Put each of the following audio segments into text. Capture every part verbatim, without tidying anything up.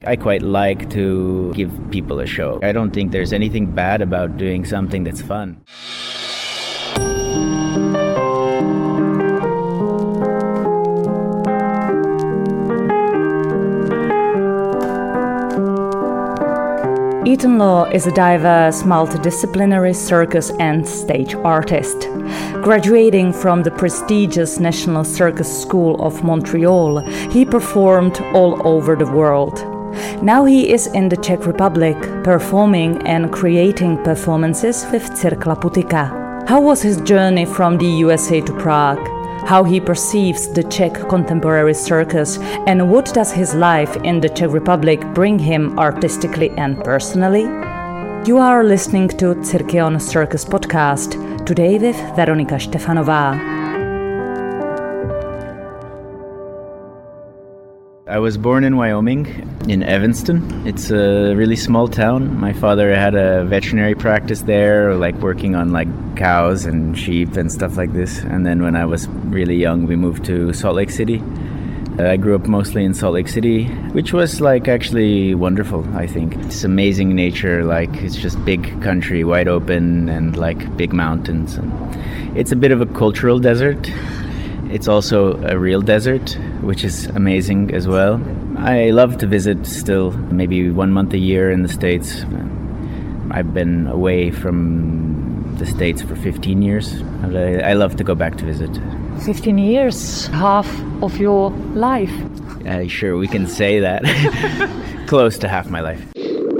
I quite like to give people a show. I don't think there's anything bad about doing something that's fun. Ethan Law is a diverse, multidisciplinary circus and stage artist. Graduating from the prestigious National Circus School of Montreal, he performed all over the world. Now he is in the Czech Republic, performing and creating performances with Cirkla Putika. How was his journey from the U S A to Prague? How he perceives the Czech contemporary circus, and what does his life in the Czech Republic bring him artistically and personally? You are listening to Cirkeon Circus Podcast, today with Veronika Štefanová. I was born in Wyoming, in Evanston. It's a really small town. My father had a veterinary practice there, like working on like cows and sheep and stuff like this. And then when I was really young, we moved to Salt Lake City. Uh, I grew up mostly in Salt Lake City, which was like actually wonderful, I think. It's amazing nature, like it's just big country, wide open, and like big mountains. And it's a bit of a cultural desert. It's also a real desert, which is amazing as well. I love to visit still, maybe one month a year in the States. I've been away from the States for fifteen years. I love to go back to visit. fifteen years, half of your life. Uh, sure, we can say that. Close to half my life.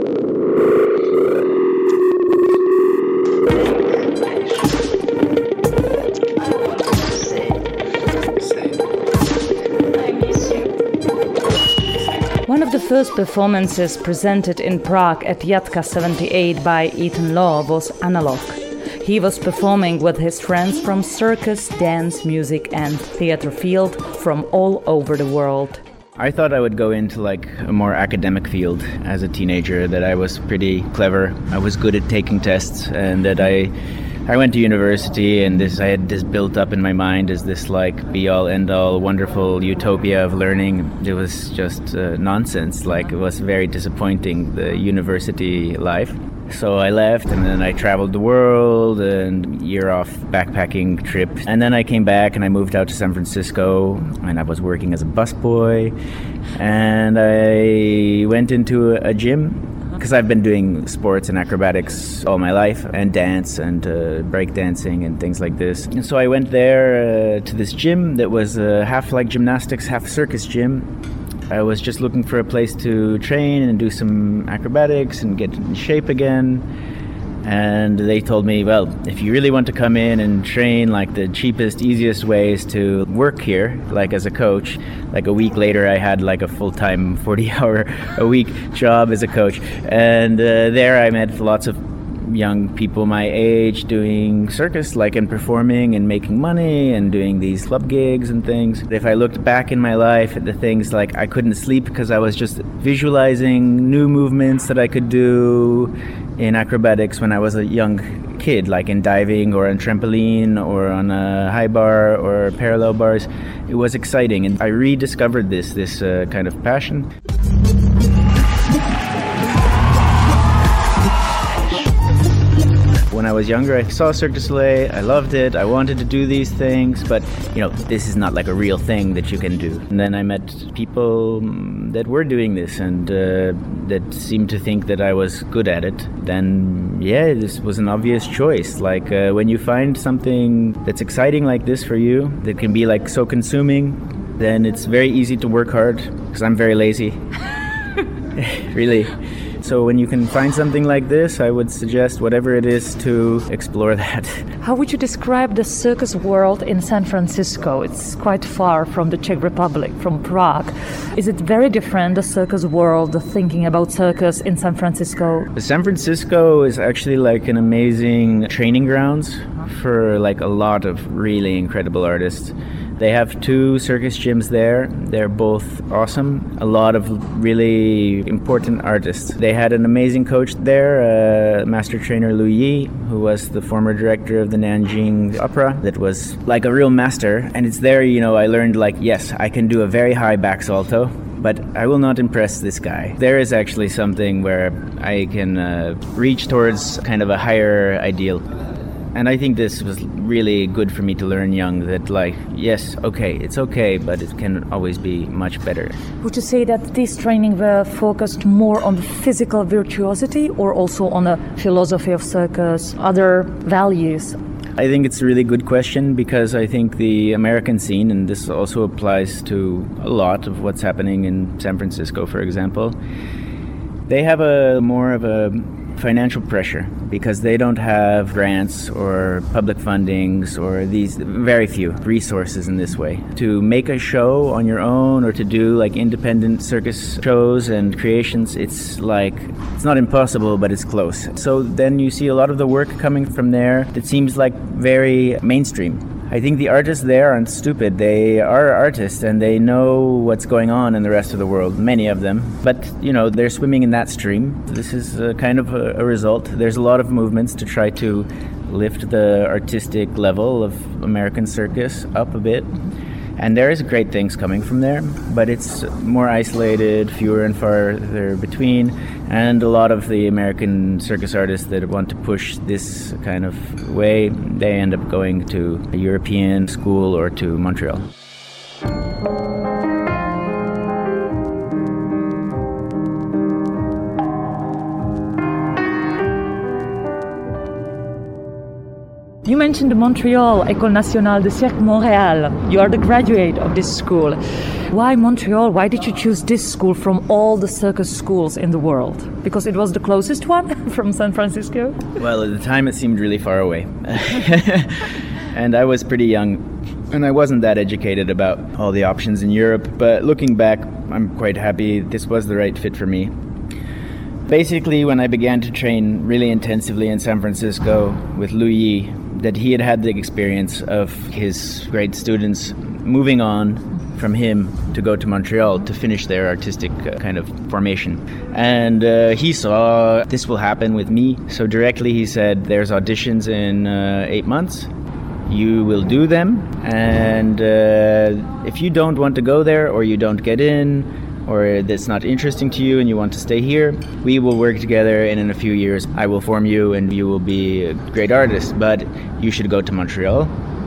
One of the first performances presented in Prague at Jatka seventy-eight by Ethan Law was Analog. He was performing with his friends from circus, dance, music and theater field from all over the world. I thought I would go into like a more academic field as a teenager, that I was pretty clever, I was good at taking tests, and that I I went to university, and this I had this built up in my mind as this like be-all, end-all, wonderful utopia of learning. It was just uh, nonsense. Like, it was very disappointing, the university life. So I left, and then I traveled the world, and year off backpacking trip. And then I came back, and I moved out to San Francisco, and I was working as a busboy. And I went into a gym, because I've been doing sports and acrobatics all my life, and dance and uh, breakdancing and things like this. And so I went there uh, to this gym that was uh, half like gymnastics, half circus gym. I was just looking for a place to train and do some acrobatics and get in shape again. And they told me, well, if you really want to come in and train, like the cheapest, easiest way is to work here, like as a coach. Like a week later, I had like a full-time forty-hour a week job as a coach. And uh, there I met lots of young people my age doing circus, like, and performing and making money and doing these club gigs and things. If I looked back in my life at the things, like I couldn't sleep because I was just visualizing new movements that I could do in acrobatics when I was a young kid, like in diving or on trampoline or on a high bar or parallel bars. It was exciting, and I rediscovered this, this uh, kind of passion. When I was younger, I saw Cirque du Soleil, I loved it, I wanted to do these things, but, you know, this is not like a real thing that you can do. And then I met people that were doing this and uh, that seemed to think that I was good at it. Then, yeah, this was an obvious choice. Like, uh, when you find something that's exciting like this for you, that can be, like, so consuming, then it's very easy to work hard, because I'm very lazy. Really. So when you can find something like this, I would suggest whatever it is to explore that. How would you describe the circus world in San Francisco? It's quite far from the Czech Republic, from Prague. Is it very different, the circus world, the thinking about circus in San Francisco? San Francisco is actually like an amazing training grounds for like a lot of really incredible artists. They have two circus gyms there. They're both awesome. A lot of really important artists. They had an amazing coach there, uh, master trainer Lu Yi, who was the former director of the Nanjing Opera. That was like a real master. And it's there, you know, I learned like, yes, I can do a very high back salto. but I will not impress this guy. There is actually something where I can uh, reach towards kind of a higher ideal. And I think this was really good for me to learn young that, like, yes, okay, it's okay, but it can always be much better. Would you say that these training were focused more on the physical virtuosity or also on the philosophy of circus, other values? I think it's a really good question because I think the American scene, and this also applies to a lot of what's happening in San Francisco, for example, they have a more of a financial pressure because they don't have grants or public fundings or these very few resources in this way. To make a show on your own or to do like independent circus shows and creations, it's like, it's not impossible, but it's close. So then you see a lot of the work coming from there that seems like very mainstream. I think the artists there aren't stupid. They are artists and they know what's going on in the rest of the world, many of them. But, you know, they're swimming in that stream. This is a kind of a, a result. There's a lot of movements to try to lift the artistic level of American circus up a bit. And there is great things coming from there, but it's more isolated, fewer and farther between, and a lot of the American circus artists that want to push this kind of way, they end up going to a European school or to Montreal. You mentioned the Montreal École Nationale de Cirque Montréal. You are the graduate of this school. Why Montreal? Why did you choose this school from all the circus schools in the world? Because it was the closest one from San Francisco? Well, at the time it seemed really far away. And I was pretty young, and I wasn't that educated about all the options in Europe. But looking back, I'm quite happy this was the right fit for me. Basically, when I began to train really intensively in San Francisco with Louis, that he had had the experience of his great students moving on from him to go to Montreal to finish their artistic uh, kind of formation. And uh, he saw this will happen with me. So directly he said, there's auditions in uh, eight months. You will do them. And uh, if you don't want to go there or you don't get in, or that's not interesting to you and you want to stay here, we will work together, and in a few years I will form you and you will be a great artist, but you should go to Montreal.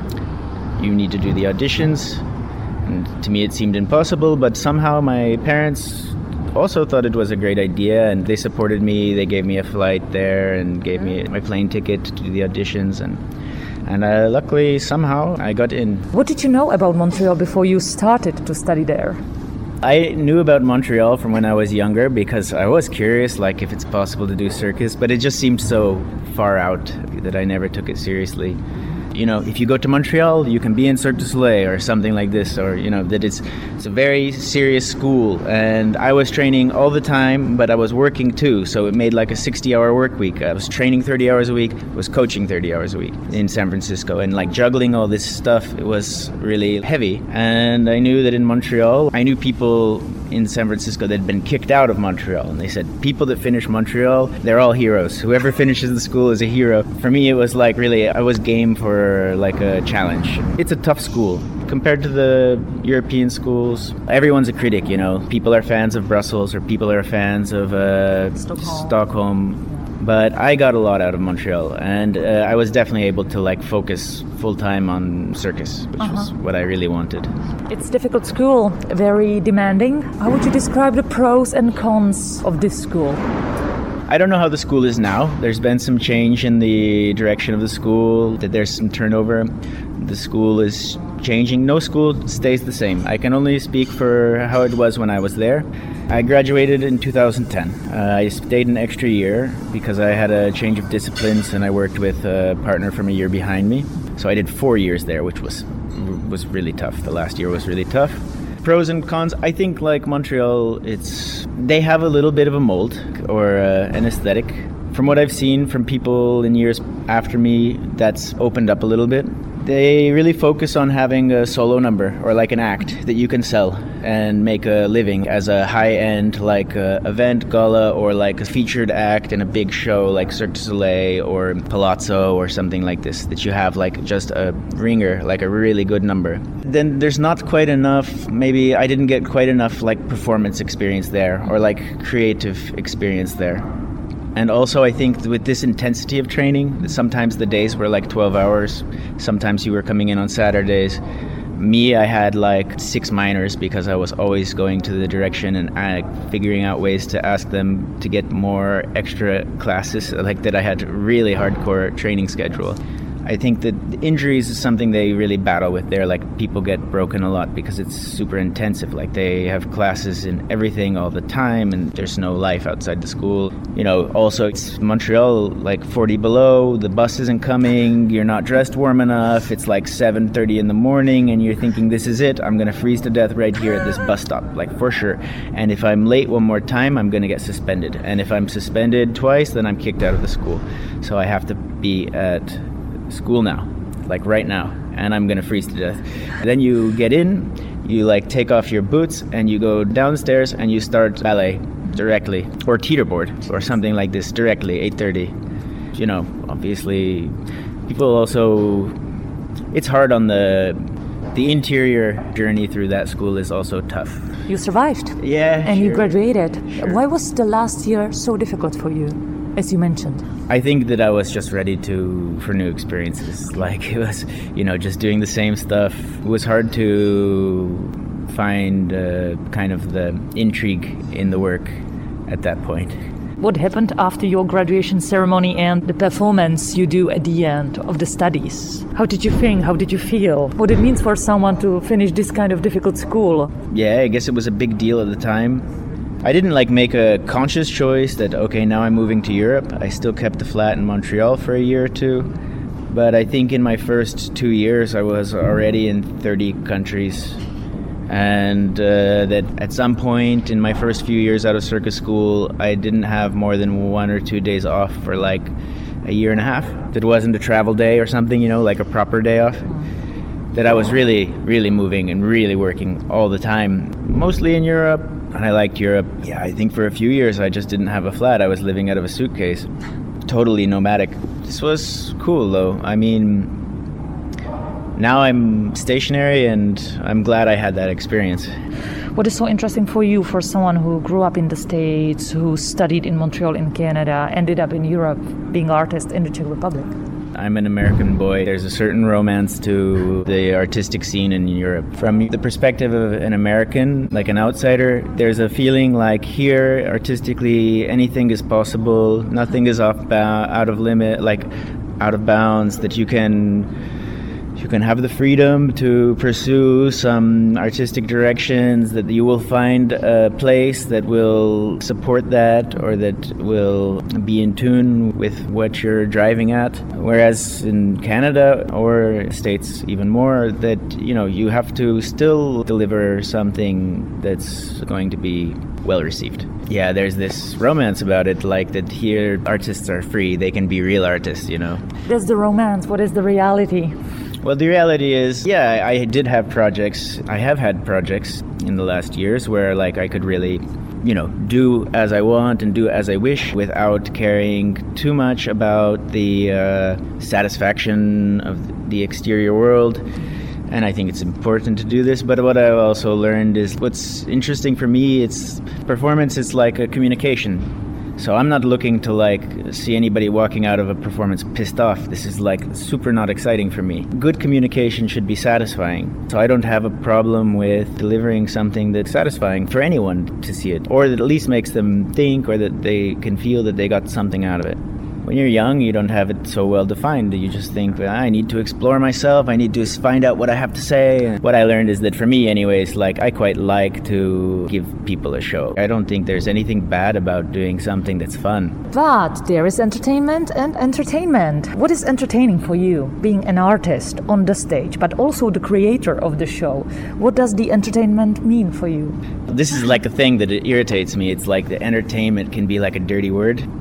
You need to do the auditions. And to me it seemed impossible, but somehow my parents also thought it was a great idea and they supported me. They gave me a flight there and gave me my plane ticket to do the auditions, and and uh, luckily somehow I got in. What did you know about Montreal before you started to study there? I knew about Montreal from when I was younger because I was curious, like if it's possible to do circus, but it just seemed so far out that I never took it seriously. You know, if you go to Montreal, you can be in Cirque du Soleil or something like this, or, you know, that it's, it's a very serious school. And I was training all the time, but I was working too. So it made like a sixty-hour work week. I was training thirty hours a week, was coaching thirty hours a week in San Francisco. And like juggling all this stuff, it was really heavy. And I knew that in Montreal, I knew people in San Francisco that had been kicked out of Montreal. And they said, people that finish Montreal, they're all heroes. Whoever finishes the school is a hero. For me, it was like really, I was game for like a challenge. It's a tough school compared to the European schools. Everyone's a critic, you know. People are fans of Brussels or people are fans of uh, Stockholm. Stockholm. But I got a lot out of Montreal, and uh, I was definitely able to like focus full time on circus, which uh-huh. was what I really wanted. It's a difficult school, very demanding. How would you describe the pros and cons of this school? I don't know how the school is now. There's been some change in the direction of the school, that there's some turnover. The school is changing. No school stays the same. I can only speak for how it was when I was there. I graduated in two thousand ten. Uh, I stayed an extra year because I had a change of disciplines and I worked with a partner from a year behind me. So I did four years there, which was was really tough. The last year was really tough. Pros and cons, I think like Montreal, it's they have a little bit of a mold or uh, an aesthetic. From what I've seen from people in years after me, that's opened up a little bit. They really focus on having a solo number or like an act that you can sell and make a living as a high-end like uh, event gala or like a featured act in a big show like Cirque du Soleil or Palazzo or something like this, that you have like just a ringer, like a really good number. Then there's not quite enough, maybe I didn't get quite enough like performance experience there or like creative experience there. And also I think with this intensity of training, sometimes the days were like twelve hours, sometimes you were coming in on Saturdays. Me, I had like six minors because I was always going to the direction and uh, figuring out ways to ask them to get more extra classes, like that I had a really hardcore training schedule. I think that injuries is something they really battle with there. Like people get broken a lot because it's super intensive. Like they have classes in everything all the time and there's no life outside the school. You know, also it's Montreal, like forty below, the bus isn't coming, you're not dressed warm enough, it's like seven thirty in the morning and you're thinking this is it, I'm gonna freeze to death right here at this bus stop, like for sure. And if I'm late one more time, I'm gonna get suspended. And if I'm suspended twice, then I'm kicked out of the school. So I have to be at school now, like right now, and I'm gonna freeze to death. And then you get in, you like take off your boots and you go downstairs and you start ballet directly, or teeterboard or something like this directly, eight thirty. You know, obviously people also, it's hard on the the interior journey through that school is also tough. You survived. Yeah. And sure. you graduated. Sure. Why was the last year so difficult for you, as you mentioned? I think that I was just ready to for new experiences. Like it was, you know, just doing the same stuff. It was hard to find uh, kind of the intrigue in the work at that point. What happened after your graduation ceremony and the performance you do at the end of the studies? How did you think? How did you feel? What it means for someone to finish this kind of difficult school? Yeah, I guess it was a big deal at the time. I didn't like make a conscious choice that, okay, now I'm moving to Europe. I still kept the flat in Montreal for a year or two. But I think in my first two years, I was already in thirty countries. And uh, that at some point in my first few years out of circus school, I didn't have more than one or two days off for like a year and a half. That wasn't a travel day or something, you know, like a proper day off. That I was really, really moving and really working all the time, mostly in Europe. And I liked Europe. Yeah, I think for a few years I just didn't have a flat. I was living out of a suitcase. Totally nomadic. This was cool though. I mean, now I'm stationary and I'm glad I had that experience. What is so interesting for you, for someone who grew up in the States, who studied in Montreal in Canada, ended up in Europe being an artist in the Czech Republic? I'm an American boy. There's a certain romance to the artistic scene in Europe. From the perspective of an American, like an outsider, there's a feeling like here, artistically, anything is possible. Nothing is off ba- out of limit, like out of bounds, that you can... You can have the freedom to pursue some artistic directions, that you will find a place that will support that or that will be in tune with what you're driving at. Whereas in Canada or States even more, that, you know, you have to still deliver something that's going to be well received. Yeah, there's this romance about it, like that here artists are free, they can be real artists, you know. There's the romance. What is the reality? Well, the reality is, yeah, I did have projects. I have had projects in the last years where, like, I could really, you know, do as I want and do as I wish without caring too much about the uh, satisfaction of the exterior world. And I think it's important to do this. But what I also learned is what's interesting for me, it's performance is like a communication. So I'm not looking to like see anybody walking out of a performance pissed off. This is like super not exciting for me. Good communication should be satisfying. So I don't have a problem with delivering something that's satisfying for anyone to see it, or that at least makes them think, or that they can feel that they got something out of it. When you're young, you don't have it so well defined. You just think, well, I need to explore myself. I need to find out what I have to say. And what I learned is that for me anyways, like I quite like to give people a show. I don't think there's anything bad about doing something that's fun. But there is entertainment and entertainment. What is entertaining for you, being an artist on the stage, but also the creator of the show? What does the entertainment mean for you? This is like a thing that it irritates me. It's like the entertainment can be like a dirty word.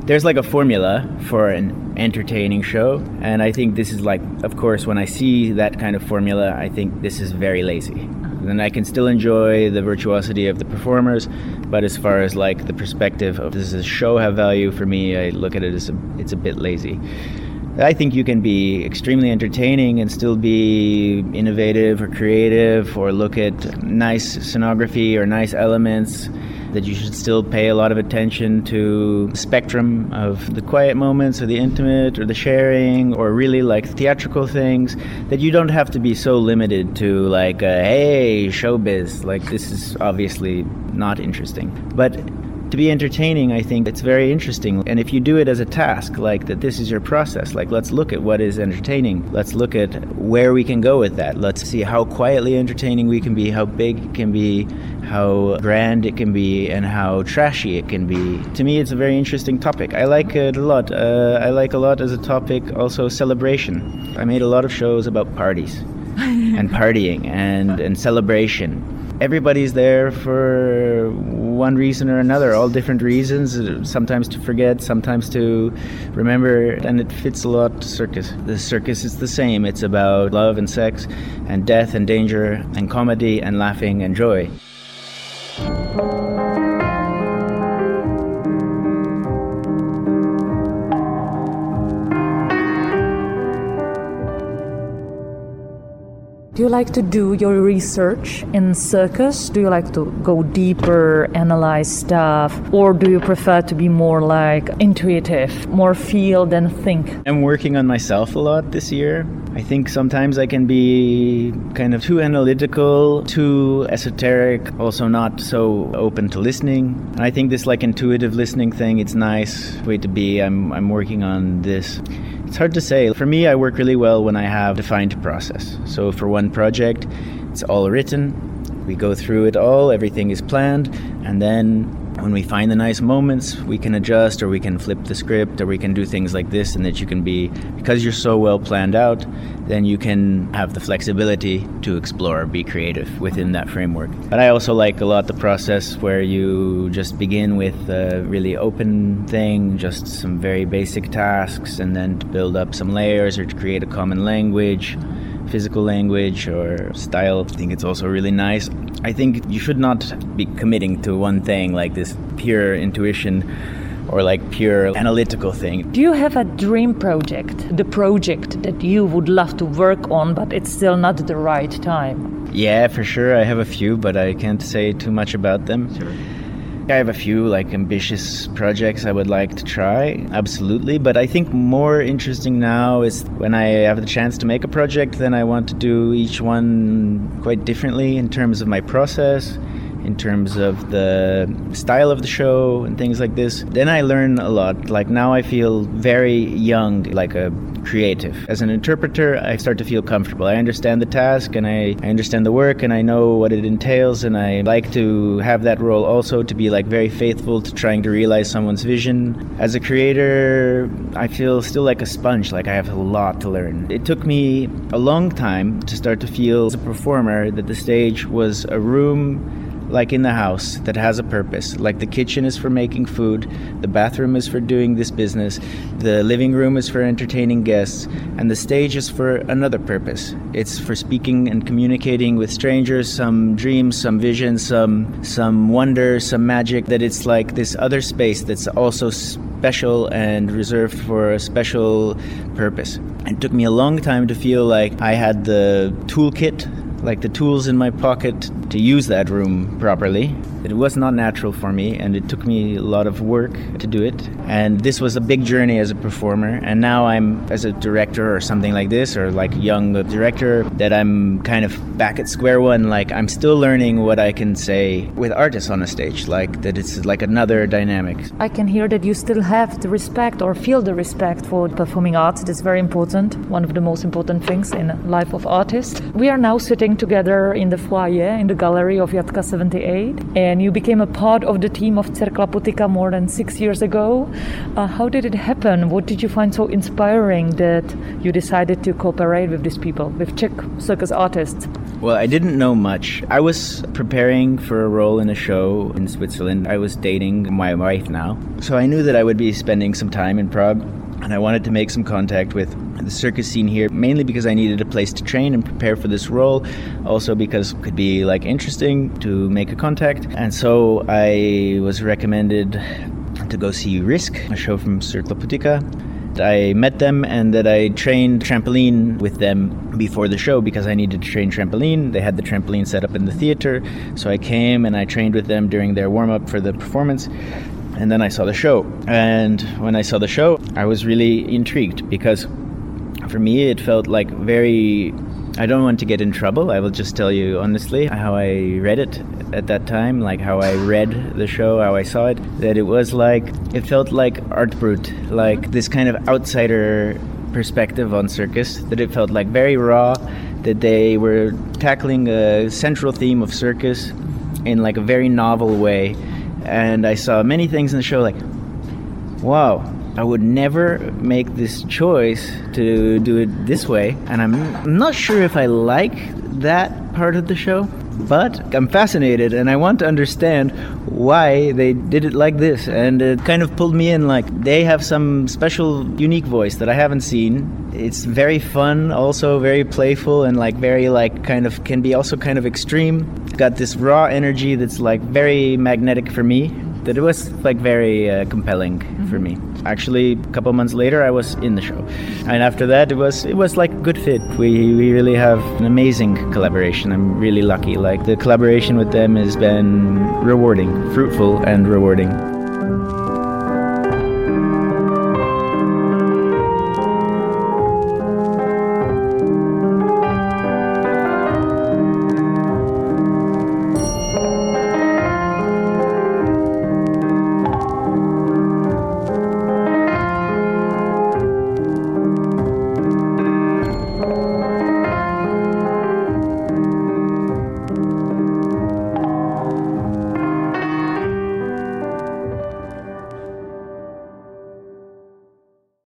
there's like a formula for an entertaining show, and I think this is like, of course, when I see that kind of formula, I think this is very lazy. Then I can still enjoy the virtuosity of the performers, but as far as like the perspective of does this show have value for me, I look at it as a, it's a bit lazy. I think you can be extremely entertaining and still be innovative or creative or look at nice scenography or nice elements, that you should still pay a lot of attention to the spectrum of the quiet moments or the intimate or the sharing or really like theatrical things, that you don't have to be so limited to like, uh, hey, showbiz, like this is obviously not interesting. But to be entertaining, I think it's very interesting. And if you do it as a task, like that this is your process, like let's look at what is entertaining. Let's look at where we can go with that. Let's see how quietly entertaining we can be, how big it can be, how grand it can be, and how trashy it can be. To me, it's a very interesting topic. I like it a lot. Uh, I like a lot as a topic also celebration. I made a lot of shows about parties and partying and, and celebration. Everybody's there for one reason or another, all different reasons, sometimes to forget, sometimes to remember, and it fits a lot to circus. The circus is the same. It's about love and sex and death and danger and comedy and laughing and joy. Do you like to do your research in circus? Do you like to go deeper, analyze stuff? Or do you prefer to be more like intuitive, more feel than think? I'm working on myself a lot this year. I think sometimes I can be kind of too analytical, too esoteric, also not so open to listening. And I think this like intuitive listening thing, it's nice way to be. I'm I'm working on this. It's hard to say. For me, I work really well when I have defined process. So for one project, it's all written. We go through it all, everything is planned, and then when we find the nice moments, we can adjust or we can flip the script or we can do things like this, and that you can be, because you're so well planned out, then you can have the flexibility to explore, be creative within that framework. But I also like a lot the process where you just begin with a really open thing, just some very basic tasks, and then to build up some layers or to create a common language, physical language or style. I think it's also really nice. I think you should not be committing to one thing like this pure intuition or like pure analytical thing. Do you have a dream project, the project that you would love to work on, but it's still not the right time? Yeah, for sure. I have a few, but I can't say too much about them. Sure. I have a few like ambitious projects I would like to try, absolutely. But I think more interesting now is when I have the chance to make a project, then I want to do each one quite differently in terms of my process, in terms of the style of the show and things like this. Then I learn a lot. Like now I feel very young, like a creative. As an interpreter, I start to feel comfortable. I understand the task and I, I understand the work and I know what it entails, and I like to have that role also to be like very faithful to trying to realize someone's vision. As a creator, I feel still like a sponge, like I have a lot to learn. It took me a long time to start to feel as a performer that the stage was a room like in the house that has a purpose. Like the kitchen is for making food, the bathroom is for doing this business, the living room is for entertaining guests, and the stage is for another purpose. It's for speaking and communicating with strangers, some dreams, some visions, some some wonder, some magic, that it's like this other space that's also special and reserved for a special purpose. It took me a long time to feel like I had the toolkit, like the tools in my pocket to use that room properly. It was not natural for me, and it took me a lot of work to do it. And this was a big journey as a performer. And now I'm, as a director or something like this, or like a young director, that I'm kind of back at square one. Like I'm still learning what I can say with artists on a stage, like that it's like another dynamic. I can hear that you still have the respect or feel the respect for performing arts. That's very important, one of the most important things in the life of artists. We are now sitting together in the foyer, in the gallery of Jatka seventy-eight, and you became a part of the team of Cerkla Putika more than six years ago. Uh, how did it happen? What did you find so inspiring that you decided to cooperate with these people, with Czech circus artists? Well, I didn't know much. I was preparing for a role in a show in Switzerland. I was dating my wife now. So I knew that I would be spending some time in Prague, and I wanted to make some contact with the circus scene here, mainly because I needed a place to train and prepare for this role, also because it could be like interesting to make a contact. And so I was recommended to go see Risk, a show from Cerkla Putika. I met them and that I trained trampoline with them before the show because I needed to train trampoline. They had the trampoline set up in the theater, so I came and I trained with them during their warm-up for the performance. And then I saw the show. And when I saw the show, I was really intrigued because for me it felt like very... I don't want to get in trouble. I will just tell you honestly how I read it at that time, like how I read the show, how I saw it, that it was like, it felt like art brut, like this kind of outsider perspective on circus, that it felt like very raw, that they were tackling a central theme of circus in like a very novel way. And I saw many things in the show like, wow, I would never make this choice to do it this way. And I'm not sure if I like that part of the show, but I'm fascinated and I want to understand why they did it like this. And it kind of pulled me in, like they have some special, unique voice that I haven't seen. It's very fun, also very playful and like very like kind of, can be also kind of extreme. Got this raw energy that's like very magnetic for me, that it was like very uh, compelling mm-hmm. for me. Actually, a couple months later, I was in the show, and after that, it was it was like a good fit. We we really have an amazing collaboration. I'm really lucky. Like the collaboration with them has been rewarding, fruitful, and rewarding.